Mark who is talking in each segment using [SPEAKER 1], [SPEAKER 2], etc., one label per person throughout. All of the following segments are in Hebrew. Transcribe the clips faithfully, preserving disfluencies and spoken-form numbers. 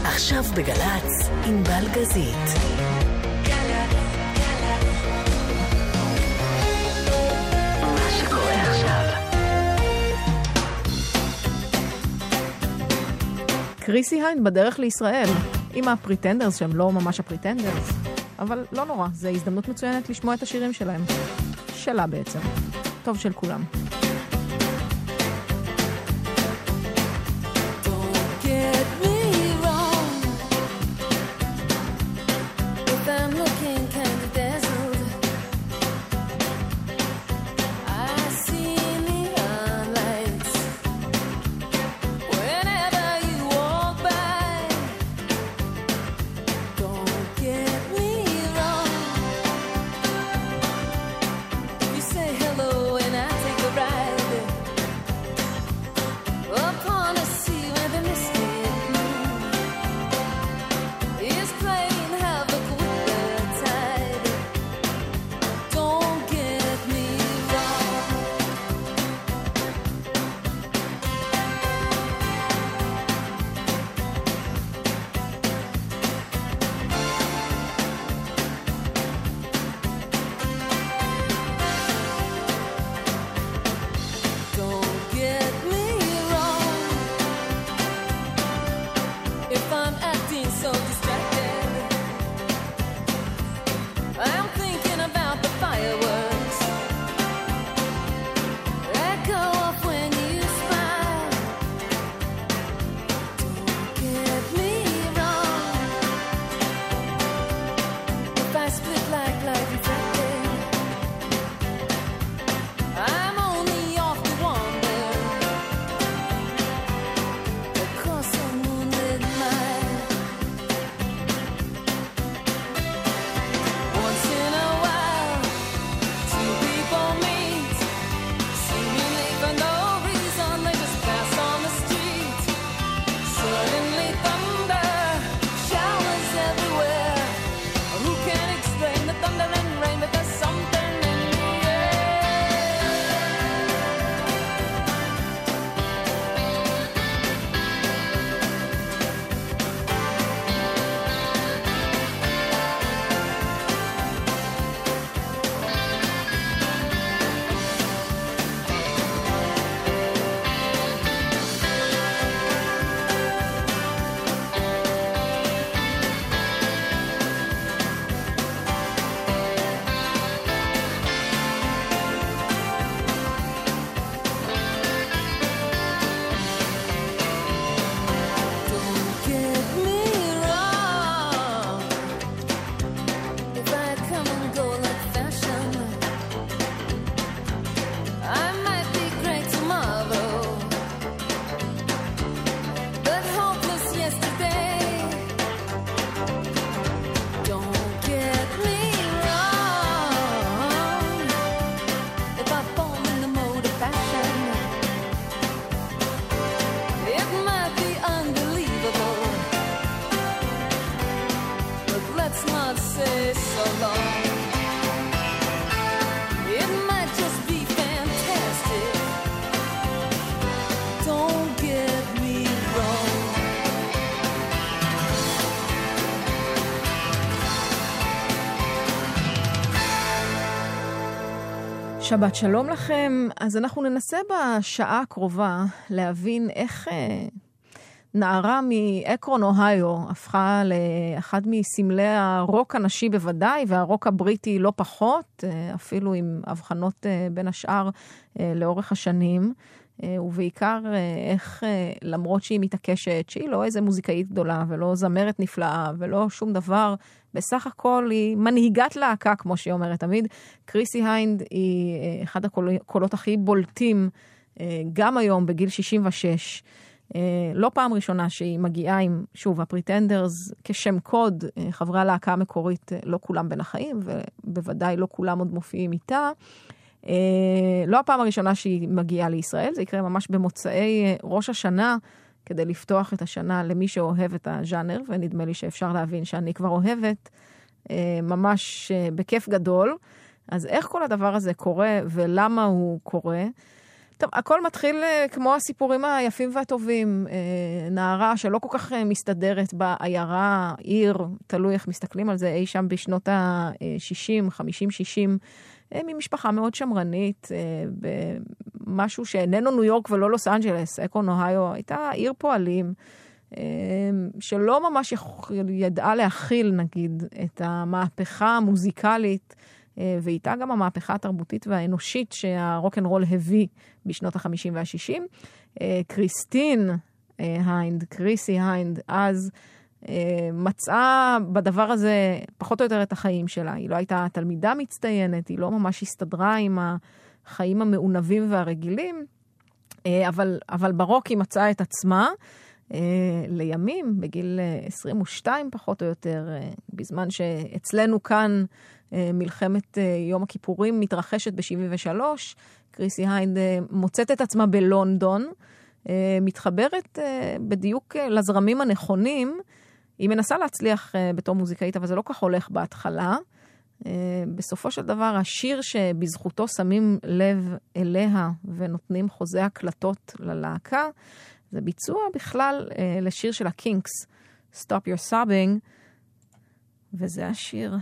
[SPEAKER 1] עכשיו בגלץ, ענבל גזית. מה שקורה עכשיו.
[SPEAKER 2] קריסי היינד בדרך לישראל, עם הפריטנדרס שהם לא ממש הפריטנדרס, אבל לא נורא, זו הזדמנות מצוינת לשמוע את השירים שלהם. שלה בעצם. טוב של כולם. שבת שלום לכם. אז אנחנו ננסה בשעה הקרובה להבין איך אה, נערה מאקרון אוהיו הפכה לאחד מסמלי הרוק הנשי בוודאי, והרוק הבריטי לא פחות, אה, אפילו עם הבחנות אה, בין השאר אה, לאורך השנים, אה, ובעיקר אה, איך אה, למרות שהיא מתעקשת שהיא לא איזה מוזיקאית גדולה ולא זמרת נפלאה ולא שום דבר, בסך הכל היא מנהיגת להקה, כמו שהיא אומרת תמיד. קריסי היינד היא אחד הקולות הכי בולטים, גם היום בגיל שישים ושש. לא פעם ראשונה שהיא מגיעה עם, שוב, הפריטנדרס כשם קוד, חברי הלהקה המקורית, לא כולם בין החיים, ובוודאי לא כולם עוד מופיעים איתה. לא הפעם הראשונה שהיא מגיעה לישראל, זה יקרה ממש במוצאי ראש השנה, כדי לפתוח את השנה למי שאוהב את הז'אנר, ונדמה לי שאפשר להבין שאני כבר אוהבת, ממש בכיף גדול. אז איך כל הדבר הזה קורה ולמה הוא קורה? טוב, טוב, הכל מתחיל כמו הסיפורים היפים והטובים. נערה שלא כל כך מסתדרת בעיירה, עיר, תלוי איך מסתכלים על זה, אי שם בשנות ה-שישים, חמישים שישים, ממשפחה מאוד שמרנית, במשהו שאיננו ניו יורק ולא לוס אנג'לס, אקרון אוהיו, הייתה עיר פועלים, שלא ממש ידעה להכיל, נגיד, את המהפכה המוזיקלית, ואיתה גם המהפכה התרבותית והאנושית שהרוק'נ'רול הביא בשנות ה-חמישים וה-שישים. קריסטין היינד, קריסי היינד, אז מצאה בדבר הזה פחות או יותר את החיים שלה. היא לא הייתה תלמידה מצטיינת, היא לא ממש הסתדרה עם החיים המעונבים והרגילים, אבל, אבל ברוק היא מצאה את עצמה לימים, בגיל עשרים ושתיים פחות או יותר, בזמן שאצלנו כאן מלחמת יום הכיפורים מתרחשת ב-שבעים ושלוש, קריסי היינד מוצאת את עצמה בלונדון, מתחברת בדיוק לזרמים הנכונים, היא מנסה להצליח בתור מוזיקאית, אבל זה לא כך הולך בהתחלה. בסופו של דבר, השיר שבזכותו שמים לב אליה ונותנים חוזה הקלטות ללהקה, זה ביצוע בכלל לשיר של הקינקס, Stop Your Sobbing, וזה השיר.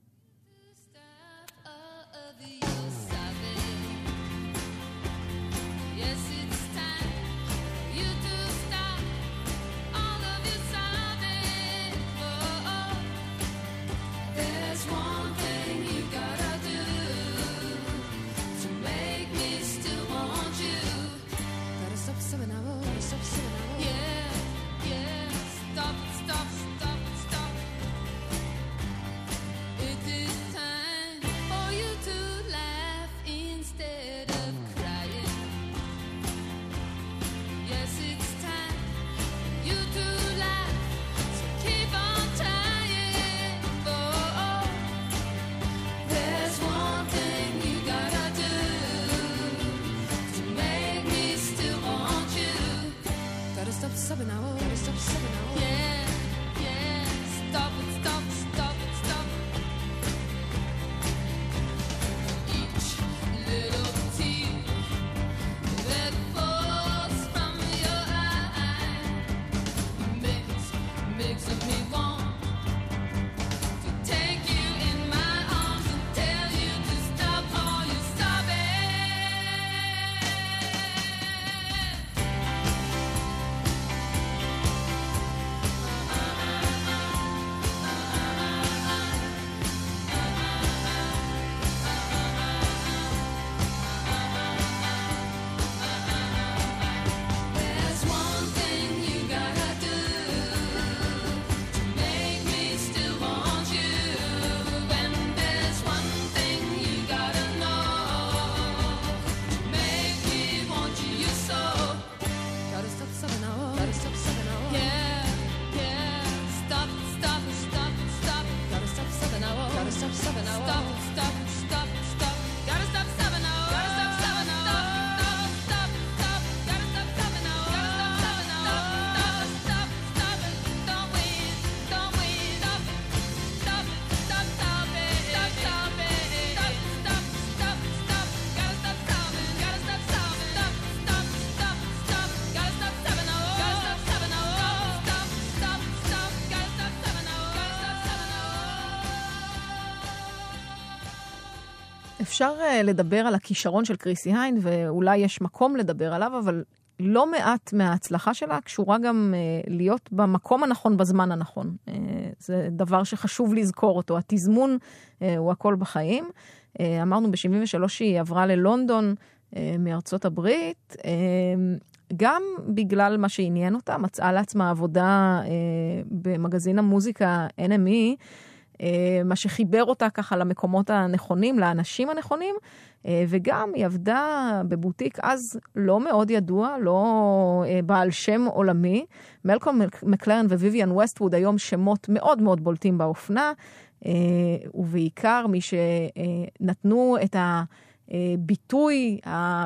[SPEAKER 2] אפשר לדבר על הכישרון של קריסי היינד, ואולי יש מקום לדבר עליו, אבל לא מעט מההצלחה שלה קשורה גם להיות במקום הנכון בזמן הנכון. זה דבר שחשוב לזכור אותו. התזמון הוא הכל בחיים. אמרנו ב-שבעים ושלוש היא עברה ללונדון מארצות הברית, גם בגלל מה שעניין אותה, מצאה לעצמה עבודה במגזין המוזיקה אן אם אי, מה שחיבר אותה ככה למקומות הנכונים, לאנשים הנכונים, וגם היא עבדה בבוטיק אז לא מאוד ידוע, לא בעל שם עולמי. מלקום מקלרן וויביאן ווסטווד היום שמות מאוד מאוד בולטים באופנה, ובעיקר מי שנתנו את הביטוי,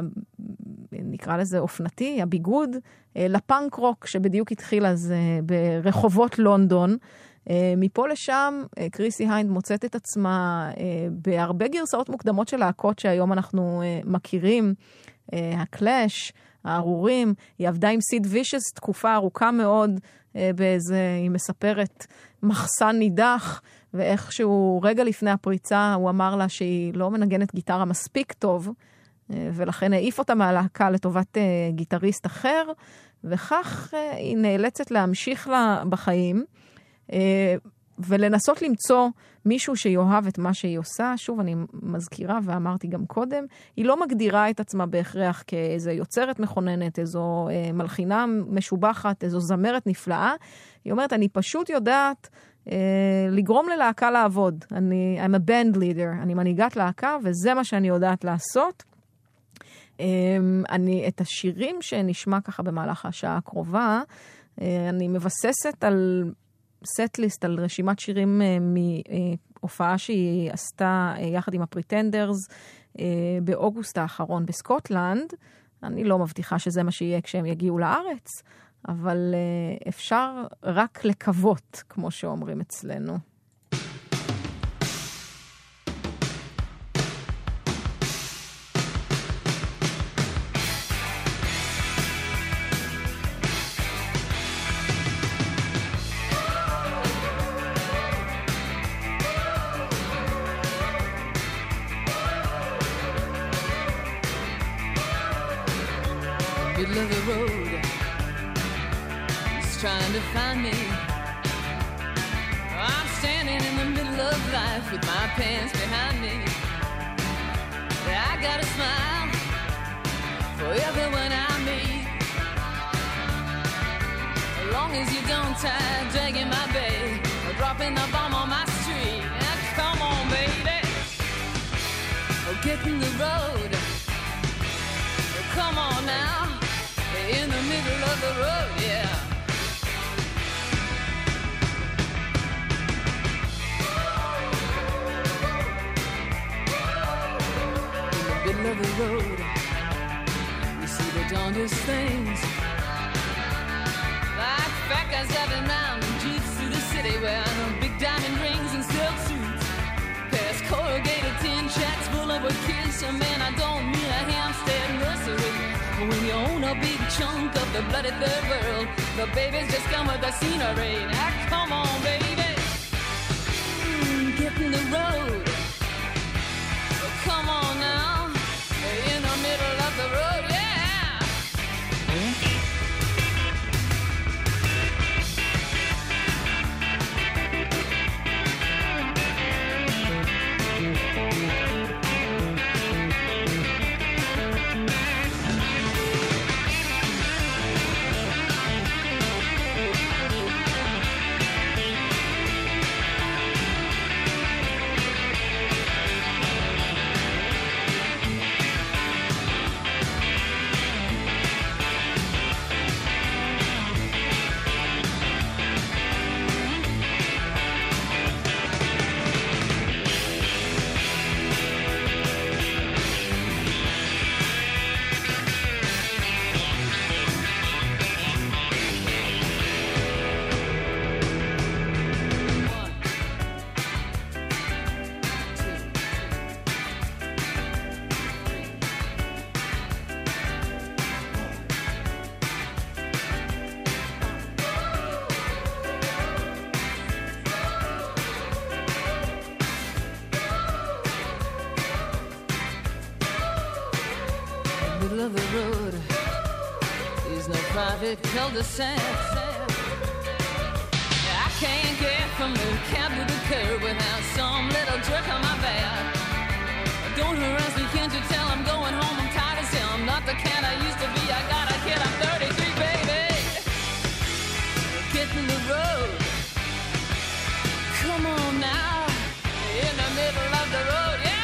[SPEAKER 2] נקרא לזה אופנתי, הביגוד, לפאנק רוק שבדיוק התחיל אז ברחובות לונדון. מפה לשם, קריסי היינד מוצאת את עצמה בהרבה גרסאות מוקדמות של להקות שהיום אנחנו מכירים, הקלאש, הארורים, היא עבדה עם סיד וישס תקופה ארוכה מאוד, באיזה, היא מספרת מחסן נידח, ואיכשהו רגע לפני הפריצה הוא אמר לה שהיא לא מנגנת גיטרה מספיק טוב, ולכן העיף אותה מהלהקה לטובת גיטריסט אחר, וכך היא נאלצת להמשיך לה בחיים, ולנסות למצוא מישהו שיאהב את מה שהיא עושה. שוב, אני מזכירה ואמרתי גם קודם, היא לא מגדירה את עצמה בהכרח כאיזו יוצרת מכוננת, איזו אה, מלחינה משובחת, איזו זמרת נפלאה. היא אומרת, אני פשוט יודעת אה, לגרום ללהקה לעבוד. אני, I'm a band leader, אני מנהיגת להקה, וזה מה שאני יודעת לעשות. אה, אני, את השירים שנשמע ככה במהלך השעה הקרובה, אה, אני מבססת על סט-ליסט, על רשימת שירים מהופעה שהיא עשתה יחד עם הפריטנדרס באוגוסט האחרון בסקוטלנד. אני לא מבטיחה שזה מה שיהיה כשהם יגיעו לארץ, אבל אפשר רק לקוות, כמו שאומרים אצלנו.
[SPEAKER 3] Middle of the road, he's trying to find me. I'm standing in the middle of life with my pants behind me. I got a smile for everyone I meet, as long as you don't tie dragging my bag or dropping the bomb on my street. Now, come on, baby, oh, get in the road. Oh, come on now. In the middle of the road, yeah. In the middle of the road, you see the darndest things, like fat guys driving around in jeeps through the city wearing big diamond rings and silk suits, past corrugated tin shacks full of a kids. So man, I don't mean a Hampstead nursery. When you own a big chunk of the bloody third world, the babies just come with the scenery. Now come on, baby, mm, get in the road. Oh, come on now, in the middle of the road, yeah. Of the road is no private cul-de-sac. I can't get from the cab to the curb without some little jerk on my back. Don't harass me, can't you tell I'm going home? I'm tired as hell. I'm not the cat I used to be. I got a kid, I'm thirty-three, baby. Get in the road. Come on now, in the middle of the road, yeah.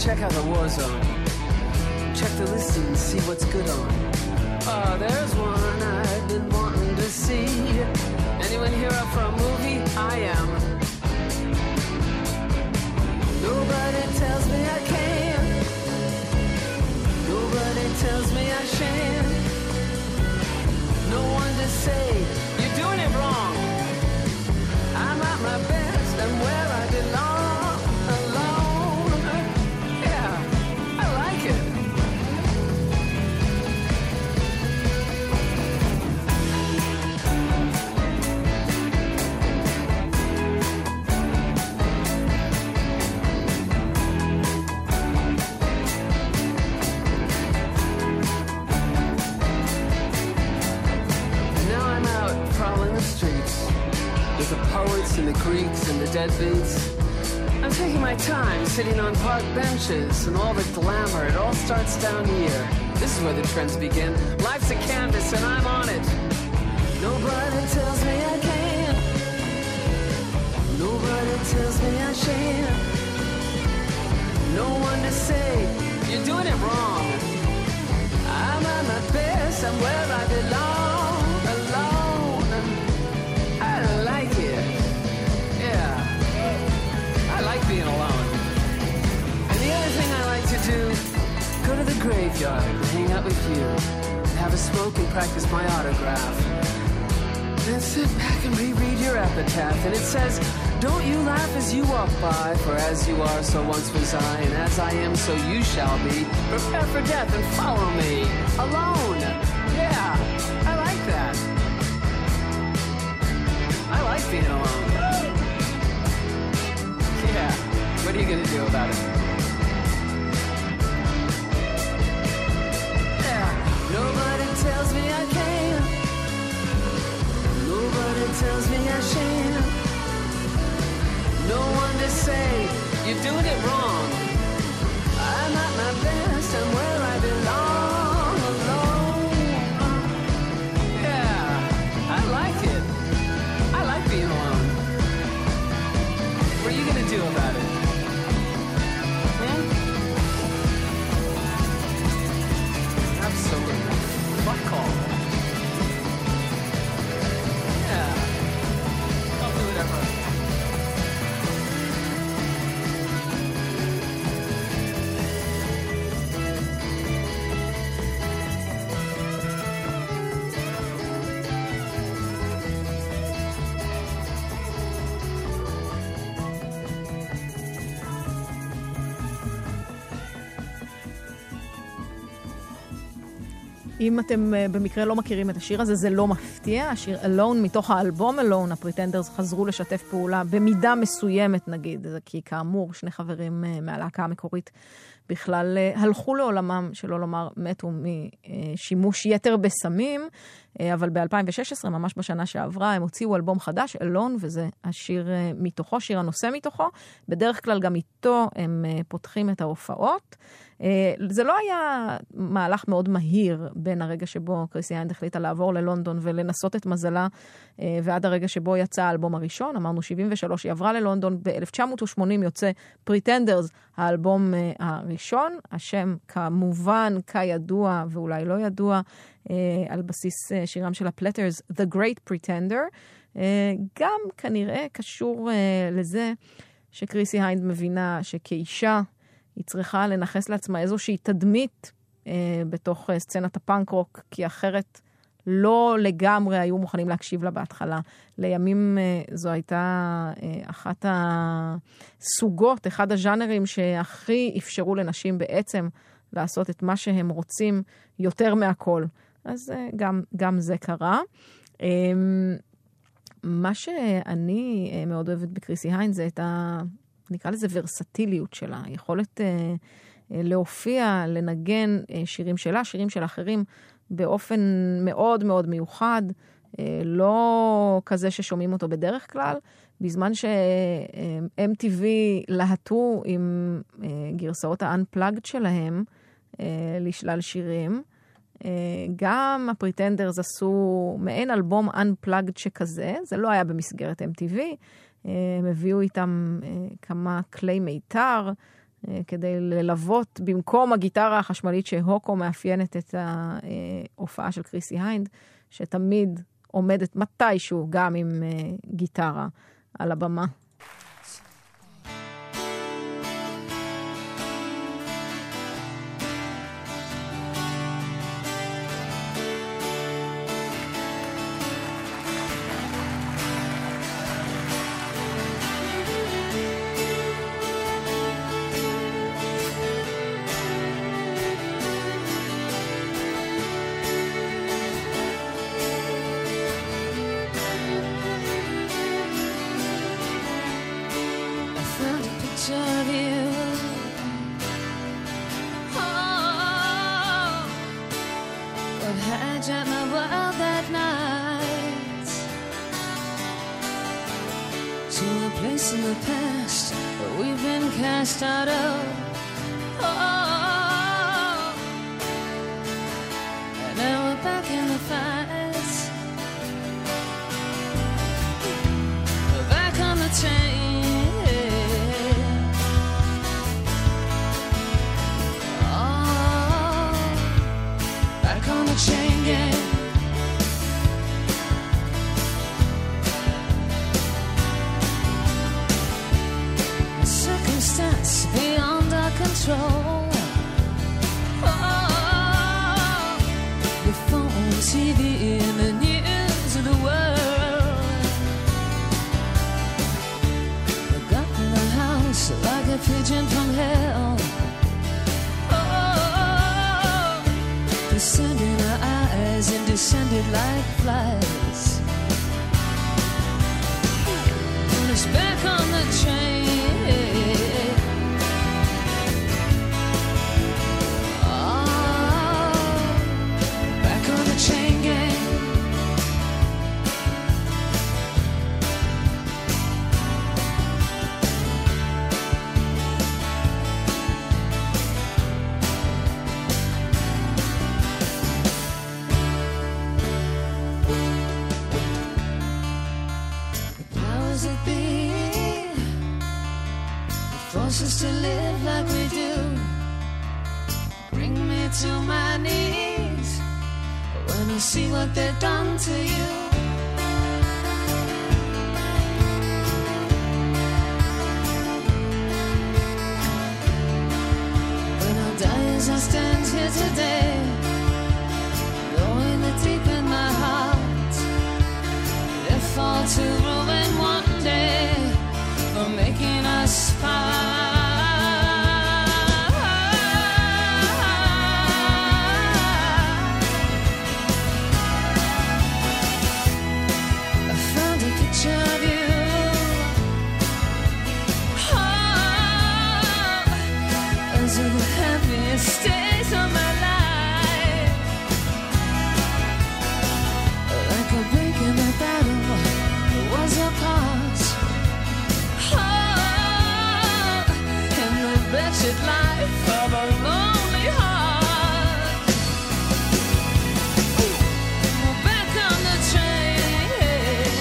[SPEAKER 4] check out the war zone. Check the listing and see what's good on. Oh, there's one I've been wanting to see. Anyone here up for a movie? I am. Nobody tells me I can. Nobody tells me I shan't. No one to say, you're doing it wrong. I'm at my best, I'm where I belong. Alone. Yeah, I like it. The poets and the Greeks and the deadbeats. I'm taking my time sitting on park benches and all the glamour. It all starts down here. This is where the trends begin. Life's a canvas and I'm on it. Nobody tells me I can. Nobody tells me I shan't. No one to say, you're doing it wrong. I'm at my best, I'm where I belong. Being alone. And the other thing I like to do, go to the graveyard and hang out with you, and have a smoke and practice my autograph. Then sit back and reread your epitaph, and it says, don't you laugh as you walk by, for as you are, so once was I, and as I am, so you shall be. Prepare for death and follow me, alone. Yeah, I like that. I like being alone. Yeah, what are you gonna do about it? Yeah, nobody tells me I can. Nobody tells me I shan't. No one to say, you're doing it wrong. I'm at my best, I'm where I belong, alone. Yeah, I like it. I like being alone. What are you gonna do about it? Hmm? Absolutely. Fuck all. Yeah. I'll do whatever.
[SPEAKER 2] אם אתם במקרה לא מכירים את השיר הזה, זה לא מפתיע. השיר Alone מתוך האלבום Alone, הפריטנדרס חזרו לשתף פעולה במידה מסוימת נגיד, כי כאמור שני חברים מהלהקה המקורית בכלל הלכו לעולמם, שלא לומר מתו משימוש יתר בסמים, אבל ב-אלפיים ושש עשרה, ממש בשנה שעברה, הם הוציאו אלבום חדש, Alone, וזה השיר מתוכו, שיר הנושא מתוכו. בדרך כלל גם איתו הם פותחים את ההופעות. זה לא היה מהלך מאוד מהיר בין הרגע שבו קריסי היינד החליטה לעבור ללונדון ולנסות את מזלה, ועד הרגע שבו יצא האלבום הראשון. אמרנו שבעים ושלוש, היא עברה ללונדון, ב-אלף תשע מאות ושמונים יוצא פריטנדרס, האלבום הראשון, השם כמובן כידוע ואולי לא ידוע, על בסיס שירם של הפלטרס, The Great Pretender, גם כנראה קשור לזה שקריסי היינד מבינה שכאישה היא צריכה לנחס לעצמה איזושהי תדמית אה, בתוך אה, סצנת הפאנק רוק, כי אחרת לא לגמרי היו מוכנים להקשיב לה בהתחלה. לימים אה, זו הייתה אה, אחת הסוגות, אחד הז'אנרים שהכי אפשרו לנשים בעצם לעשות את מה שהם רוצים יותר מהכל. אז אה, גם, גם זה קרה. אה, מה שאני אה, מאוד אוהבת בקריסי היינד זה את ה... נקרא לזה ורסטיליות שלה, יכולת אה, אה, להופיע, לנגן אה, שירים שלה, שירים של אחרים, באופן מאוד מאוד מיוחד, אה, לא כזה ששומעים אותו בדרך כלל, בזמן ש-אם טי וי להטו עם אה, גרסאות ה-Unplugged שלהם אה, לשלל שירים, אה, גם הפריטנדרס עשו מעין אלבום Unplugged שכזה, זה לא היה במסגרת אם טי וי, הם הביאו איתם כמה כלי מיתר, כדי ללוות במקום הגיטרה החשמלית שהוקו מאפיינת את ההופעה של קריסי היינד, שתמיד עומדת מתישהו גם עם גיטרה על הבמה.
[SPEAKER 3] In the past that we've been cast out of, oh, and now we're back in the fight, we're back on the train, oh, back on the chain gang. Beyond our control, oh, the phone, T V, and the news of the world. We got in the house like a pigeon from hell, oh, descending our eyes and descended like flies. And it's back on the train. Us to live like we do, bring me to my knees when I see what they've done to you. When I die as I stand here today, knowing that deep in my heart they fall to ruin one day for making us part. Stays of my life, like a break in the battle was a pause, oh, in the wretched life of a lonely heart. We're back on the train,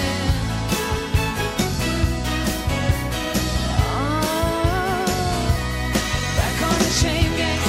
[SPEAKER 3] oh, back on the chain gang.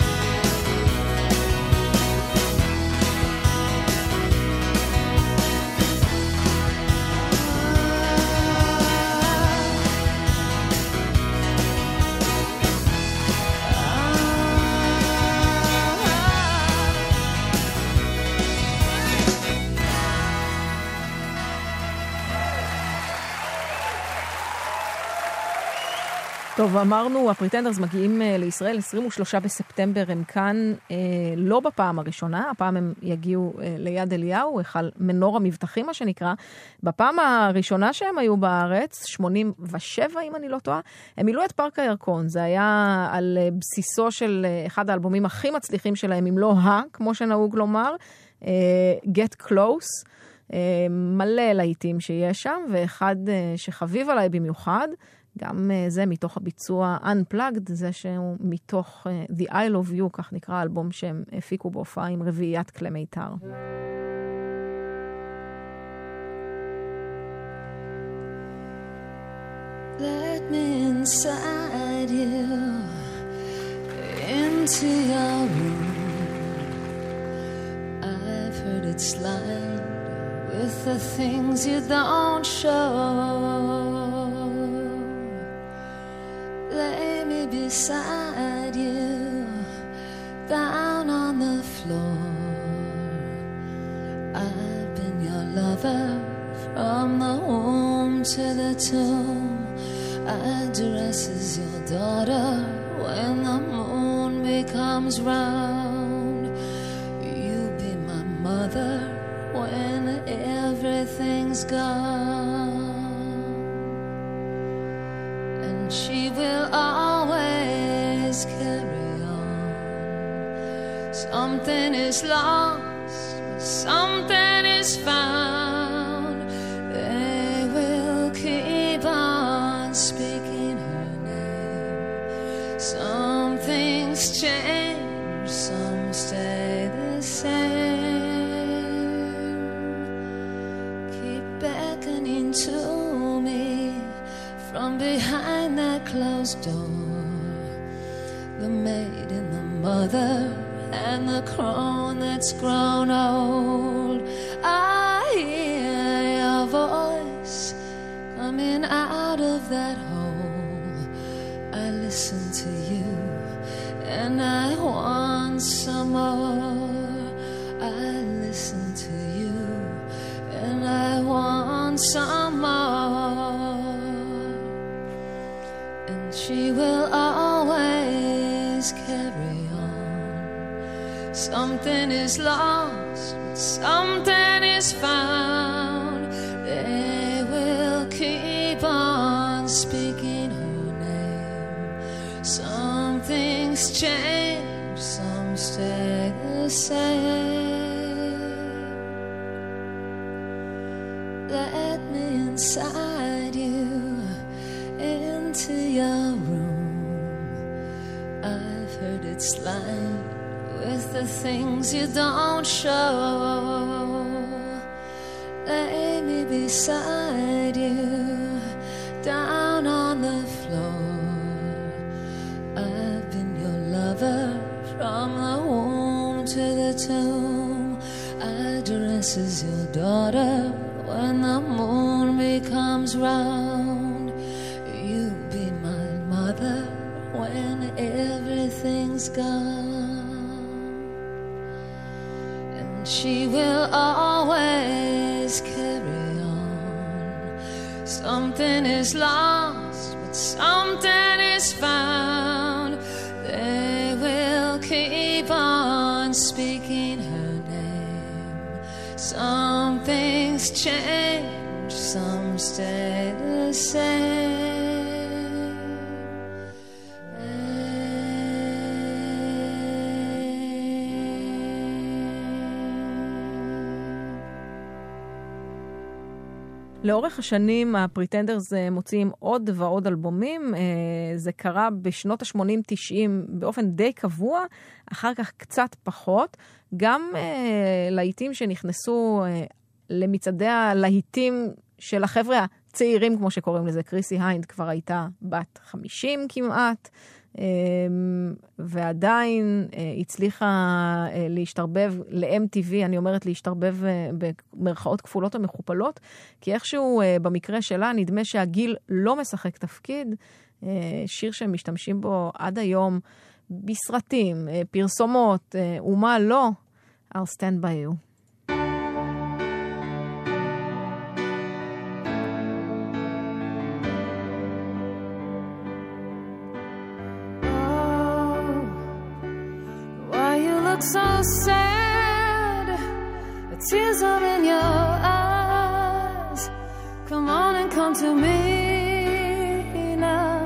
[SPEAKER 2] טוב, אמרנו, הפריטנדרס מגיעים לישראל עשרים ושלושה בספטמבר, הם כאן אה, לא בפעם הראשונה, הפעם הם יגיעו אה, ליד אליהו, היכל מנור המבטחים מה שנקרא. בפעם הראשונה שהם היו בארץ, שמונים ושבע אם אני לא טועה, הם מילאו את פארק הירקון, זה היה על אה, בסיסו של אה, אחד האלבומים הכי מצליחים שלהם, אם לא ה, כמו שנהוג לומר, אה, Get Close, אה, מלא להיטים שיש שם, ואחד אה, שחביב עליי במיוחד, גם זה מתוך הביצוע Unplugged, זה שהוא מתוך The Isle of You, כך נקרא האלבום שהם הפיקו בהופעה עם רביעיית כלי מיתר.
[SPEAKER 3] Let me inside you
[SPEAKER 5] into your room. I've heard it's lined with the things you don't show. Lay me beside you, down on the floor. I've been your lover from the womb to the tomb. I dress as your daughter when the moon becomes round. You be my mother when everything's gone. And she will always carry on. Something is lost, something is found. They will keep on speaking her name. Some things change, some stay the same. Keep beckoning to me from behind that closed door. The maid and the mother and the crone that's grown old. I hear your voice coming out of that hole. I listen to you and I want some more. I listen to you and I want some more. And she will always carry on. Something is lost, something is found. They will keep on speaking her name. Some things change, some stay the same. Let me inside you, into your room. I've heard it's lined with the things you don't show. Lay me beside you, down on the floor. I've been your lover from the womb to the tomb. I dress as your daughter when the moon becomes round. You be my mother when everything's gone. And she will always carry on. Something is lost, but something is found. They will keep on speaking her name. Some things change, some stay the same.
[SPEAKER 2] לאורך השנים הפריטנדרס מוציאים עוד ועוד אלבומים. זה קרה בשנות ה-שמונים תשעים באופן די קבוע, אחר כך קצת פחות. גם להיטים שנכנסו למצעדי הלהיטים של החבר'ה הצעירים, כמו שקוראים לזה. קריסי היינד כבר הייתה בת חמישים כמעט, ועדיין הצליחה להשתרבב ל-אם טי וי, אני אומרת להשתרבב במרכאות כפולות ומכופלות, כי איכשהו במקרה שלה נדמה שהגיל לא משחק תפקיד. שיר שהם משתמשים בו עד היום בסרטים, פרסומות, ומה לא, I'll stand by you.
[SPEAKER 5] So sad, the tears are in your eyes. Come on and come to me now.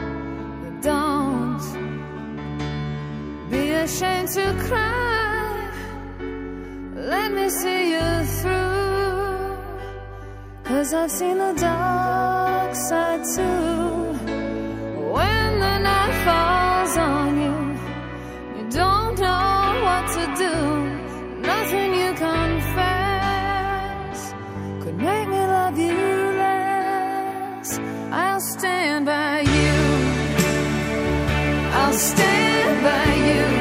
[SPEAKER 5] Don't be ashamed to cry. Let me see you through, 'cause I've seen the dark side too. When the night falls on you, you don't know what to do. Nothing you confess could make me love you less. I'll stand by you. I'll stand by you.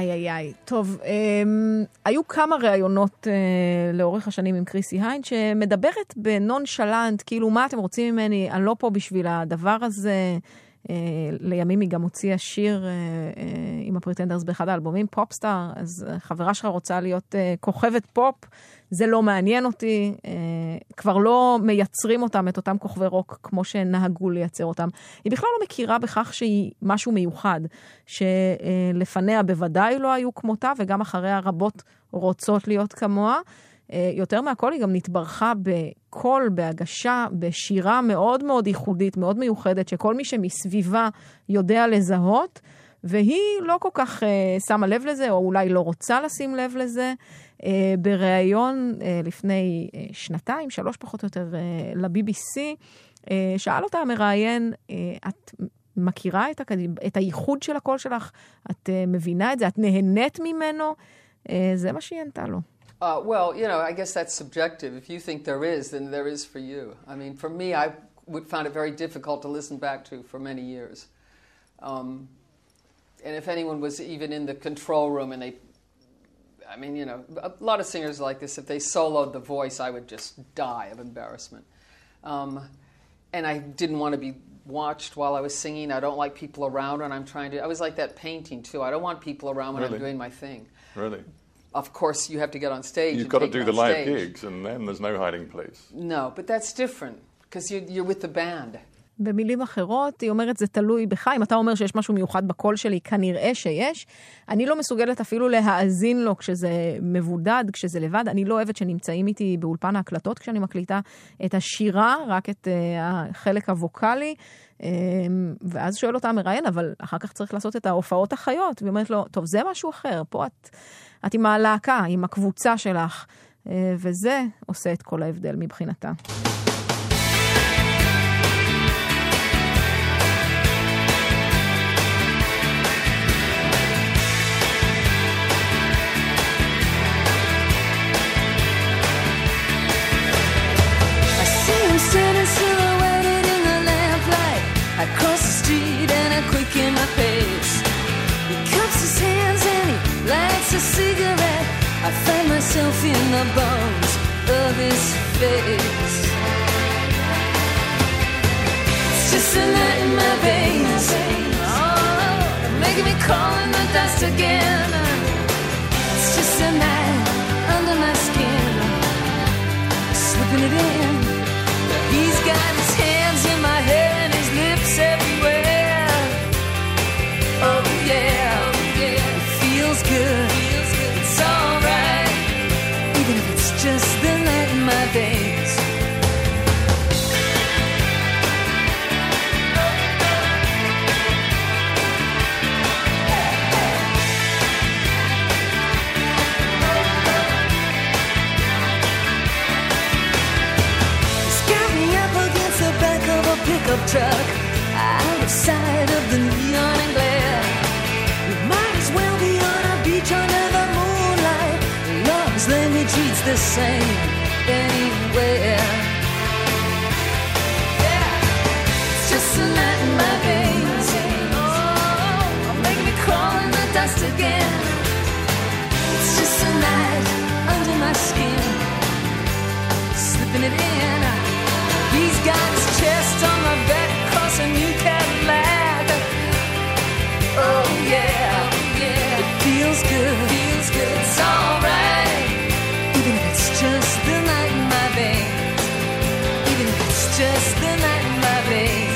[SPEAKER 2] איי, איי, איי. טוב, אמ, היו כמה ראיונות אה, לאורך השנים עם קריסי היינד, שמדברת בנון-שלנט, כאילו, מה אתם רוצים ממני? אני לא פה בשביל הדבר הזה. אה, לימים היא גם הוציאה שיר אה, אה, עם הפריטנדרס באחד האלבומים, פופסטאר, אז חברה שלך רוצה להיות אה, כוכבת פופ, זה לא מעניין אותי, אה, כבר לא מייצרים אותם, את אותם כוכבי רוק, כמו שנהגו לייצר אותם. היא בכלל לא מכירה בכך שהיא משהו מיוחד, שלפניה בוודאי לא היו כמותה, וגם אחריה רבות רוצות להיות כמוה. אה, יותר מהכל היא גם נתברכה בקול, בהגשה, בשירה מאוד מאוד ייחודית, מאוד מיוחדת, שכל מי שמסביבה יודע לזהות, והיא לא כל כך uh, שמה לב לזה, או אולי לא רוצה לשים לב לזה. Uh, בריאיון uh, לפני uh, שנתיים, שלוש פחות או יותר, uh, ל-בי בי סי, uh, שאל אותה המראיין, uh, את מכירה את, הקד... את הייחוד של הקול שלך? את uh, מבינה את זה? את נהנית ממנו? Uh, זה מה שהיא ענתה לו.
[SPEAKER 6] Uh, well, you know, I guess that's subjective. If you think there is, then there is for you. I mean, for me, I would find it very difficult to listen back to for many years. Um, and if anyone was even in the control room and they, I mean, you know, a lot of singers like this, if they soloed the voice, I would just die of embarrassment. Um, and I didn't want to be watched while I was singing. I don't like people around when I'm trying to, I was like that painting too. I don't want people around when really? I'm doing my thing.
[SPEAKER 7] Really?
[SPEAKER 6] Of course, you have to get on stage.
[SPEAKER 7] You've got to do the live stage. Gigs, and then there's no hiding place.
[SPEAKER 6] No, but that's different, because you're, you're with the band.
[SPEAKER 2] במילים אחרות, היא אומרת, זה תלוי בך. אם אתה אומר שיש משהו מיוחד בקול שלי, כנראה שיש. אני לא מסוגלת אפילו להאזין לו כשזה מבודד, כשזה לבד. אני לא אוהבת שנמצאים איתי באולפן ההקלטות, כשאני מקליטה את השירה, רק את uh, החלק הווקלי. Um, ואז שואל אותה מראיין, אבל אחר כך צריך לעשות את ההופעות החיות. והיא אומרת לו, טוב, זה משהו אחר. פה את, את עם הלהקה, עם הקבוצה שלך. Uh, וזה עושה את כל ההבדל מבחינתה.
[SPEAKER 5] Sitting silhouetted in the lamplight, I cross the street and I quicken my pace. He cups his hands and he lights a cigarette. I find myself in the bones of his face. It's just a night in my veins, oh, making me crawl in the dust again. It's just a night under my skin, slipping it in. He's got his hands in my hair and his lips everywhere. Oh yeah, oh, yeah. It feels good, feels good. It's alright, even if it's just the night in my veins. Pickup truck out of sight of the neon and glare. We might as well be on a beach under the moonlight. Love's language reads the same anywhere. Yeah, it's just a night in my veins. Oh, making me crawl in the dust again. It's just a night under my skin, slipping it in. He's got his chest on my back across a new Cadillac. Oh yeah, oh, yeah. It feels good, feels good. It's alright, even if it's just the night in my veins. Even if it's just the night in my veins.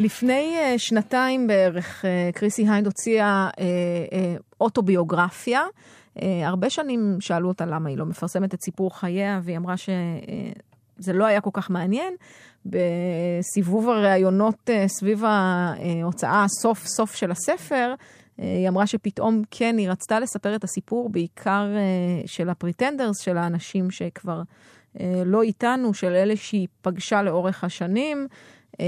[SPEAKER 2] לפני uh, שנתיים בערך, uh, קריסי היינד הוציאה uh, uh, אוטוביוגרפיה. Uh, הרבה שנים שאלו אותה למה היא לא מפרסמת את סיפור חייה, והיא אמרה שזה uh, לא היה כל כך מעניין. בסיבוב הראיונות uh, סביב ההוצאה הסוף סוף של הספר, uh, היא אמרה שפתאום כן, היא רצתה לספר את הסיפור בעיקר uh, של הפריטנדרס, של האנשים שכבר uh, לא איתנו, של אלה שהיא פגשה לאורך השנים, uh,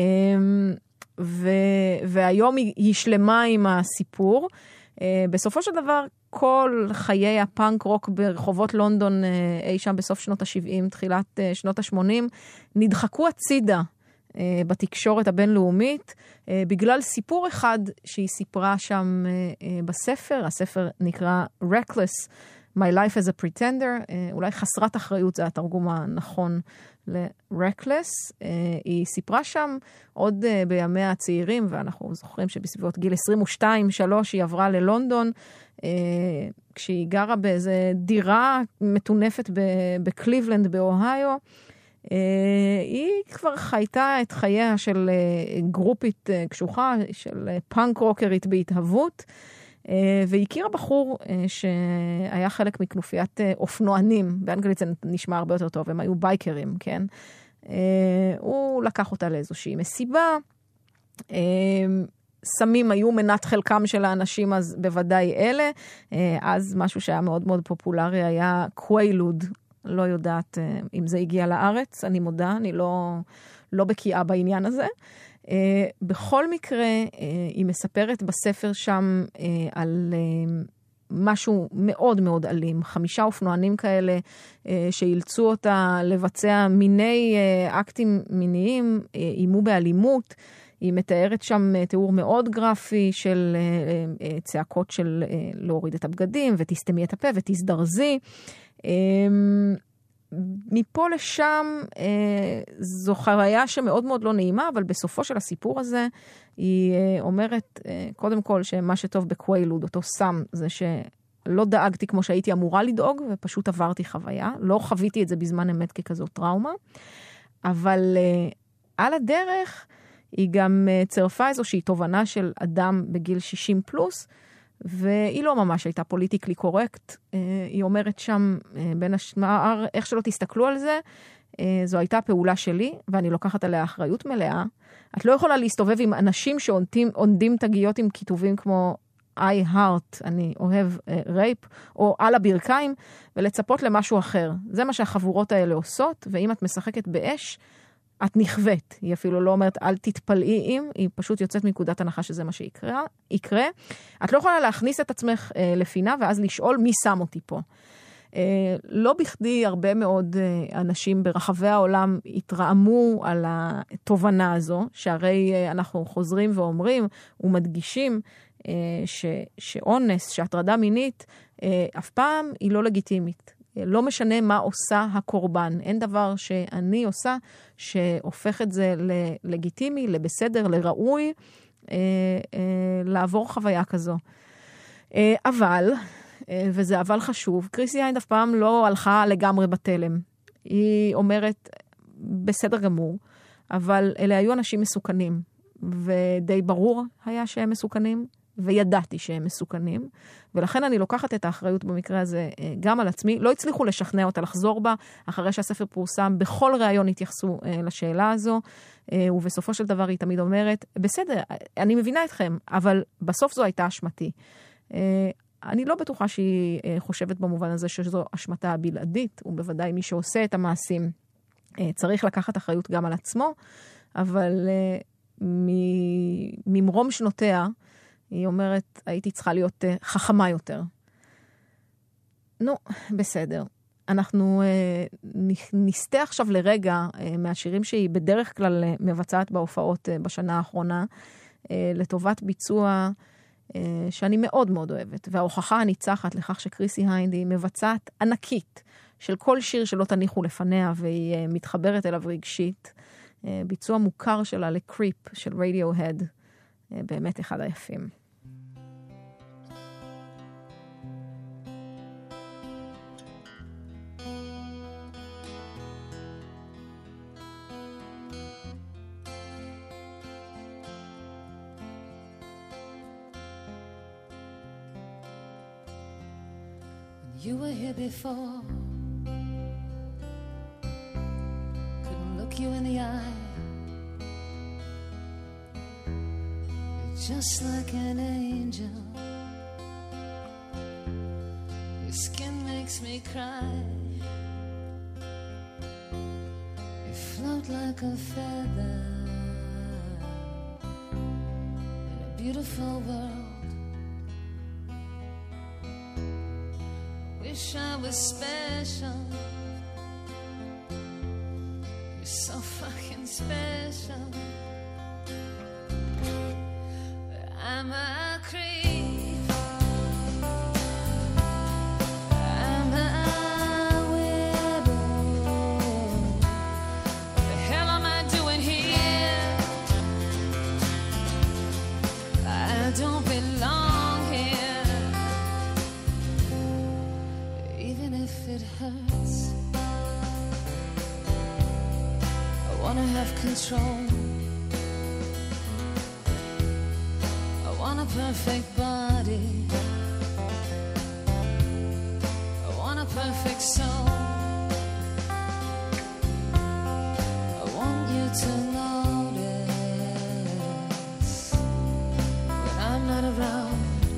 [SPEAKER 2] ו- והיום היא, היא שלמה עם הסיפור. Uh, בסופו של דבר, כל חיי הפאנק רוק ברחובות לונדון, uh, אי שם בסוף שנות ה-שבעים, תחילת uh, שנות ה-שמונים, נדחקו הצידה uh, בתקשורת הבינלאומית, uh, בגלל סיפור אחד שהיא סיפרה שם uh, uh, בספר. הספר נקרא Reckless, My Life as a Pretender, uh, אולי חסרת אחריות, זה התרגום הנכון ל-Reckless. Uh, היא סיפרה שם עוד uh, בימיה הצעירים, ואנחנו זוכרים שבסביבות גיל עשרים ושתיים שלוש היא עברה ללונדון, uh, כשהיא גרה באיזה דירה מטונפת בקליבלנד באוהיו. Uh, היא כבר חייתה את חייה של uh, גרופית uh, קשוחה, של uh, פאנק רוקרית בהתהוות, Uh, והכירה בחור uh, שהיה חלק מכנופיית uh, אופנוענים, באנגלית זה נשמע הרבה יותר טוב, הם היו בייקרים, כן? Uh, הוא לקח אותה לאיזושהי מסיבה, uh, סמים היו מנת חלקם של האנשים, אז בוודאי אלה, uh, אז משהו שהיה מאוד מאוד פופולרי היה קוויילוד, לא יודעת uh, אם זה הגיע לארץ, אני מודה, אני לא, לא בקיאה בעניין הזה. Uh, בכל מקרה, uh, היא מספרת בספר שם uh, על uh, משהו מאוד מאוד אלים. חמישה אופנוענים כאלה uh, שאילצו אותה לבצע מיני uh, אקטים מיניים, uh, אימו באלימות. היא מתארת שם uh, תיאור מאוד גרפי של uh, uh, צעקות של uh, להוריד את הבגדים, ותסתמי את הפה ותסדרזי. Uh, מפה לשם אה, זו חוויה שמאוד מאוד לא נעימה, אבל בסופו של הסיפור הזה היא אה, אומרת, אה, קודם כל, שמה שטוב בקוויילוד, אותו סם, זה שלא דאגתי כמו שהייתי אמורה לדאוג, ופשוט עברתי חוויה. לא חוויתי את זה בזמן אמת ככזו טראומה, אבל אה, על הדרך היא גם אה, צרפה איזושהי תובנה של אדם בגיל שישים פלוס, והיא לא ממש הייתה פוליטיקלי קורקט. היא אומרת שם, בין השמר, איך שלא תסתכלו על זה, זו הייתה פעולה שלי, ואני לוקחת עליה אחריות מלאה. את לא יכולה להסתובב עם אנשים שעונדים תגיות עם כיתובים כמו I heart, אני אוהב רייפ, או על הברכיים, ולצפות למשהו אחר. זה מה שהחבורות האלה עושות, ואם את משחקת באש, את נכווית. היא אפילו לא אומרת, אל תתפלאי אם, היא פשוט יוצאת מנקודת הנחה שזה מה שיקרה. יקרה. את לא יכולה להכניס את עצמך אה, לפינה, ואז לשאול מי שם אותי פה. אה, לא בכדי הרבה מאוד אה, אנשים ברחבי העולם התרעמו על התובנה הזו, שהרי אה, אנחנו חוזרים ואומרים ומדגישים אה, ש, שאונס, שהטרדה מינית, אה, אף פעם היא לא לגיטימית. לא משנה מה עושה הקורבן. אין דבר שאני עושה שהופך את זה ללגיטימי, לבסדר, לראוי, אה, אה, לעבור חוויה כזו. אה, אבל, אה, וזה אבל חשוב, קריסי היינד אף פעם לא הלכה לגמרי בתלם. היא אומרת, בסדר גמור, אבל אלה היו אנשים מסוכנים, ודי ברור היה שהם מסוכנים, וידעתי שהם מסוכנים, ולכן אני לוקחת את האחריות במקרה הזה גם על עצמי. לא הצליחו לשכנע אותה לחזור בה, אחרי שהספר פורסם, בכל ראיון התייחסו לשאלה הזו, ובסופו של דבר היא תמיד אומרת, בסדר, אני מבינה אתכם, אבל בסוף זו הייתה אשמתי. אני לא בטוחה שהיא חושבת במובן הזה שזו אשמתה הבלעדית, ובוודאי מי שעושה את המעשים צריך לקחת אחריות גם על עצמו, אבל ממרום שנותיה, היא אומרת, הייתי צריכה להיות uh, חכמה יותר. נו, בסדר. אנחנו uh, נסתה עכשיו לרגע uh, מהשירים שהיא בדרך כלל uh, מבצעת בהופעות uh, בשנה האחרונה, uh, לטובת ביצוע uh, שאני מאוד מאוד אוהבת. וההוכחה הניצחת לכך שקריסי היינד היא מבצעת ענקית של כל שיר שלא תניחו לפניה, והיא uh, מתחברת אליו רגשית. Uh, ביצוע מוכר שלה לקריפ של רדיוהד. Uh, באמת אחד היפים.
[SPEAKER 5] You were here before. Couldn't look you in the eye. You're just like an angel. Your skin makes me cry. You float like a feather in a beautiful world. Wish I was special. You're so fucking special. But I'm a creep. I'm a widow. What the hell am I doing here? I don't belong here. Even if it hurts, I wanna have control. I want a perfect body. I want a perfect soul. I want you to notice when I'm not around.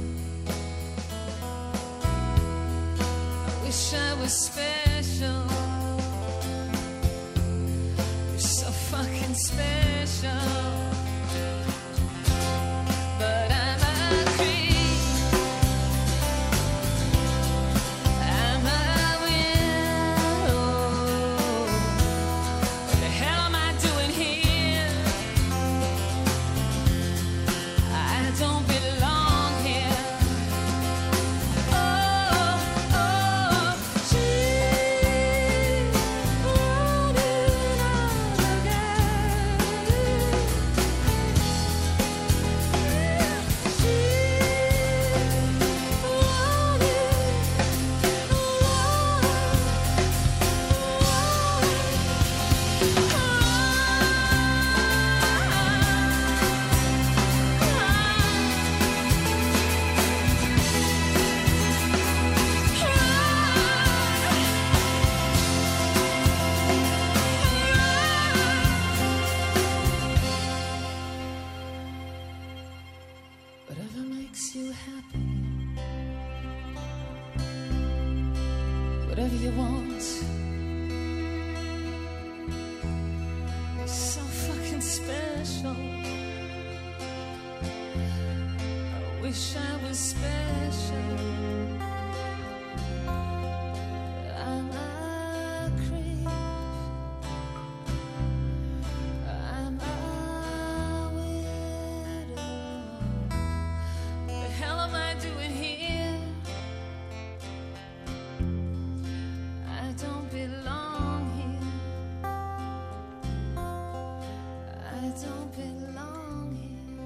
[SPEAKER 5] Wish I was special. You're so fucking special. But I'm a creep. I'm a widow. What the hell am I doing here? I don't belong here. Oh, oh, she wrote it all again. She wrote it Whatever makes you happy, whatever you want. You're so fucking special. I wish I was special. I'm a creep. I'm a widow. The hell am I doing here? I don't belong here. I don't belong here.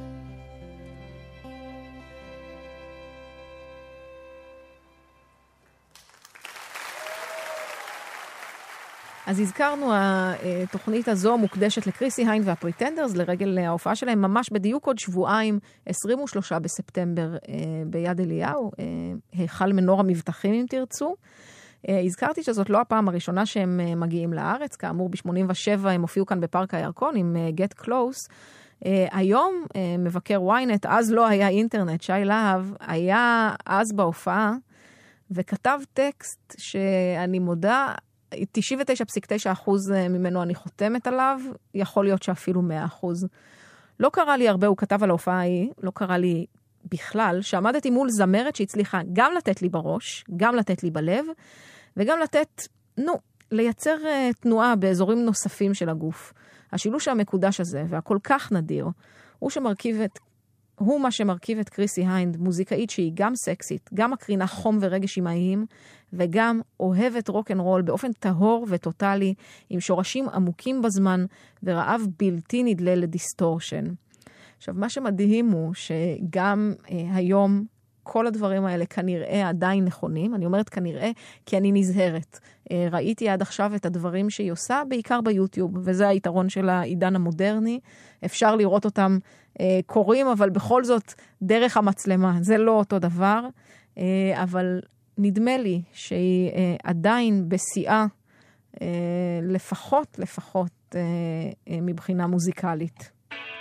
[SPEAKER 2] אז הזכרנו, התוכנית הזו מוקדשת לקריסי היינד והפריטנדרס, לרגל ההופעה שלהם ממש בדיוק עוד שבועיים, עשרים ושלושה בספטמבר ביד אליהו, היכל מנור המבטחים אם תרצו. הזכרתי שזאת לא הפעם הראשונה שהם מגיעים לארץ, כאמור ב-שמונים ושבע הם הופיעו כאן בפארק הירקון עם Get Close. היום מבקר וויינט, אז לא היה אינטרנט, שי להב, היה אז בהופעה, וכתב טקסט שאני מודה, תשעים ותשע נקודה תשע אחוז ממנו אני חותמת עליו, יכול להיות שאפילו מאה אחוז. לא קרה לי הרבה, הוא כתב על ההופעה ההיא, לא קרה לי בכלל, שעמדתי מול זמרת שהצליחה גם לתת לי בראש, גם לתת לי בלב, וגם לתת, נו, לייצר uh, תנועה באזורים נוספים של הגוף. השילוש המקודש הזה, והכל כך נדיר, הוא שמרכיב את, הוא מה שמרכיב את קריסי היינד, מוזיקאית שהיא גם סקסית, גם מקרינה חום ורגש אימהיים, וגם אוהבת רוק אנד רול באופן טהור וטוטלי, עם שורשים עמוקים בזמן, ורעב בלתי נדלה לדיסטורשן. עכשיו, מה שמדהים הוא שגם אה, היום כל הדברים האלה כנראה עדיין נכונים. אני אומרת כנראה כי אני נזהרת. אה, ראיתי עד עכשיו את הדברים שהיא עושה, בעיקר ביוטיוב, וזה היתרון של העידן המודרני. אפשר לראות אותם אה, קוראים, אבל בכל זאת דרך המצלמה. זה לא אותו דבר, אה, אבל נדמה לי שהיא אה, עדיין בשיאה, אה, לפחות, לפחות אה, אה, מבחינה מוזיקלית.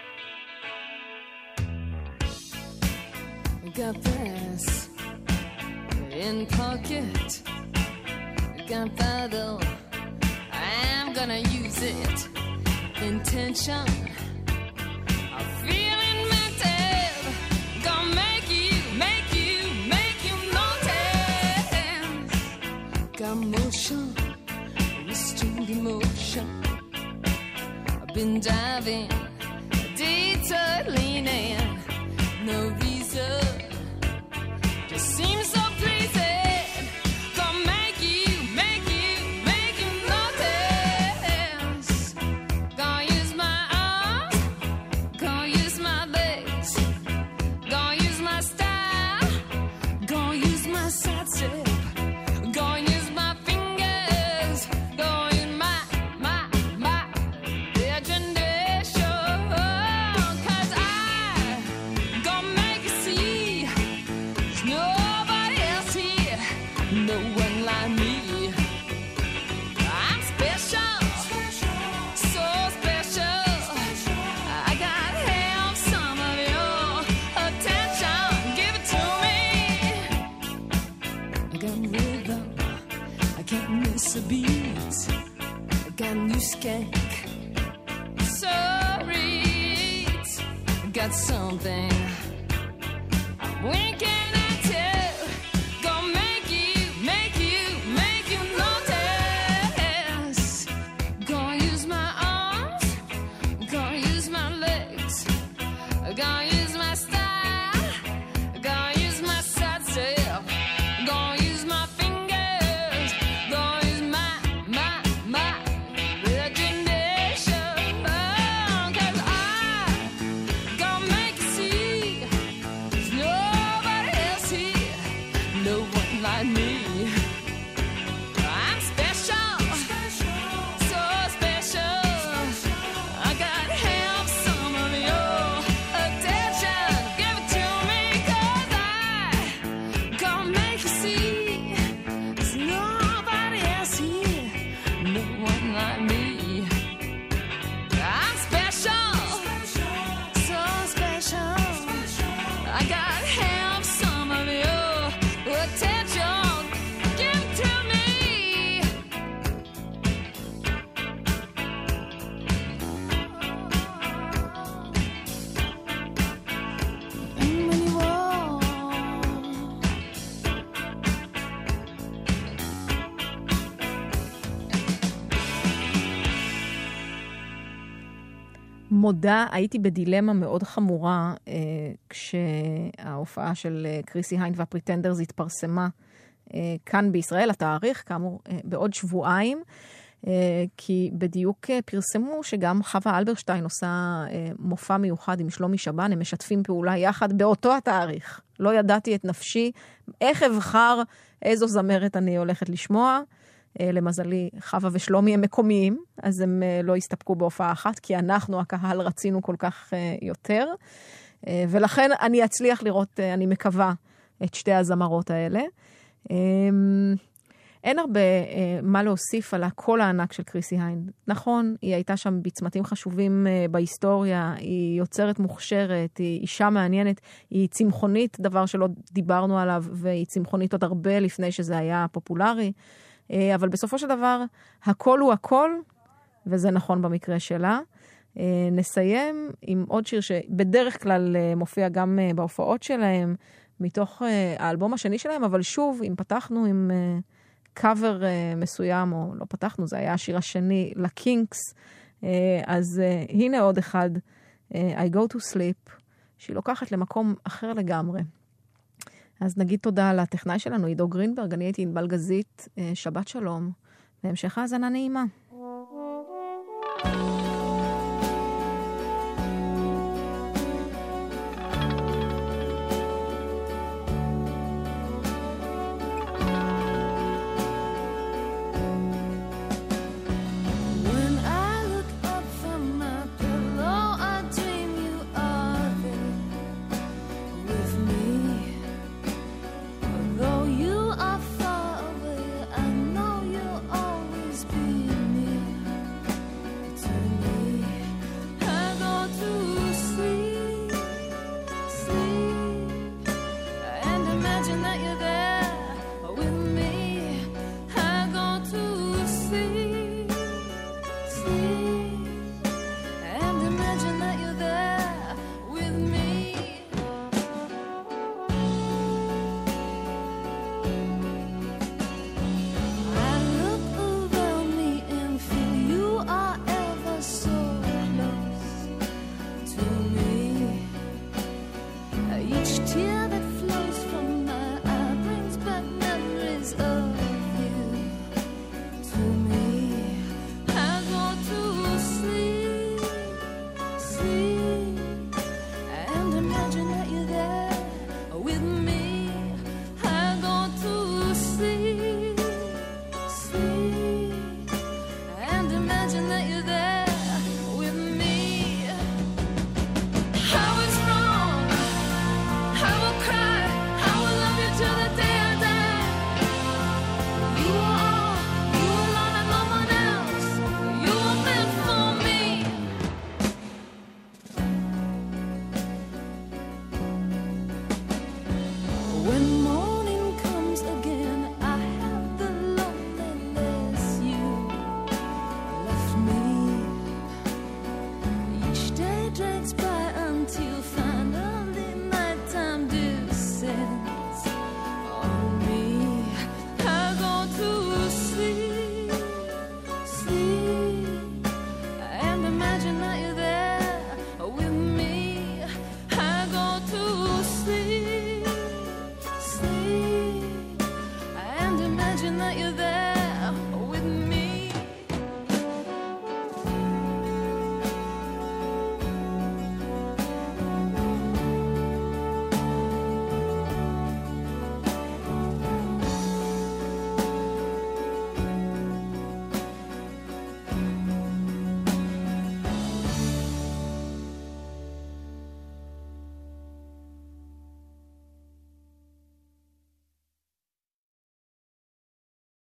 [SPEAKER 3] Got this in pocket, got that though, I'm gonna use it. Intention, I'm feeling mental, gonna make you, make you, make you notice. Got motion, restrained emotion, I've been diving, detour leaning, no reason. Seems so pleasing, gonna make you, make you, make you notice. Gonna use my arms, gonna use my legs, gonna use my style, gonna use my side step, gonna use my fingers, gonna use my, my, my imagination. Cause I gonna make you see, no no one like me. I'm special, so special. I gotta have some of your attention. Give it to me. I got rhythm, I can't miss a beat. I got new skank, so read. I got something I'm winking.
[SPEAKER 2] מודה, הייתי בדילמה מאוד חמורה אה, כשההופעה של אה, קריסי היינד והפריטנדרס התפרסמה אה, כאן בישראל, התאריך, כאמור, אה, בעוד שבועיים, אה, כי בדיוק אה, פרסמו שגם חווה אלברשטיין עושה אה, מופע מיוחד עם שלומי שבן, הם משתפים פעולה יחד באותו התאריך. לא ידעתי את נפשי, איך אבחר איזו זמרת אני הולכת לשמוע, למזלי, חווה ושלומי הם מקומיים, אז הם לא הסתפקו בהופעה אחת, כי אנחנו, הקהל, רצינו כל כך יותר. ולכן אני אצליח לראות, אני מקווה, את שתי הזמרות האלה. אין הרבה מה להוסיף על הקול הענק של קריסי היינד. נכון, היא הייתה שם בצמתים חשובים בהיסטוריה, היא יוצרת מוכשרת, היא אישה מעניינת, היא צמחונית, דבר שלא דיברנו עליו, והיא צמחונית עוד הרבה לפני שזה היה פופולרי. אבל בסופו של דבר, הכל הוא הכל, וזה נכון במקרה שלה. נסיים עם עוד שיר שבדרך כלל מופיע גם בהופעות שלהם, מתוך האלבום השני שלהם, אבל שוב, אם פתחנו עם קאבר מסוים, או לא פתחנו, זה היה השיר השני לקינקס, אז הנה עוד אחד, I go to sleep, שהיא לוקחת למקום אחר לגמרי. אז נגיד תודה לטכנאי שלנו, עידו גרינברג, אני הייתי ענבל גזית, שבת שלום, והמשך האזנה נעימה.